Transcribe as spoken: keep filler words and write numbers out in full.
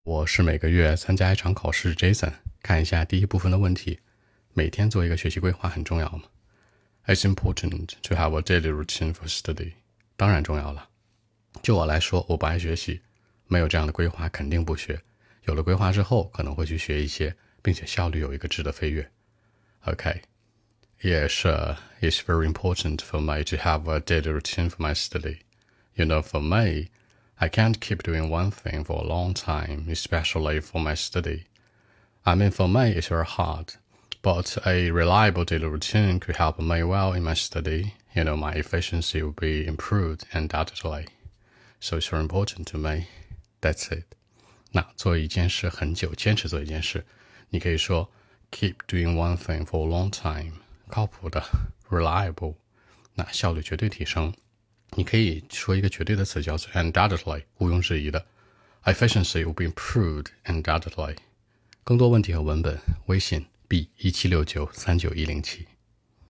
我是每个月参加一场考试 Jason， 看一下第一部分的问题。每天做一个学习规划很重要吗？ It's important to have a daily routine for study. 当然重要了。就我来说，我不爱学习，没有这样的规划肯定不学。有了规划之后，可能会去学一些，并且效率有一个质的飞跃。Okay. Yes, uh, it's very important for me to have a daily routine for my study. You know, for me, I can't keep doing one thing for a long time, especially for my study. I mean, for me, it's very hard, but a reliable daily routine could help me well in my study. You know, my efficiency will be improved undoubtedly. So it's very important to me. That's it. 那做一件事很久，坚持做一件事，你可以说 keep doing one thing for a long time. 靠谱的 reliable， 那效率绝对提升。你可以说一个绝对的词叫做 undoubtedly， 毋庸置疑的。Efficiency will be improved undoubtedly。更多问题和文本，微信 b 一七六九三九一零七。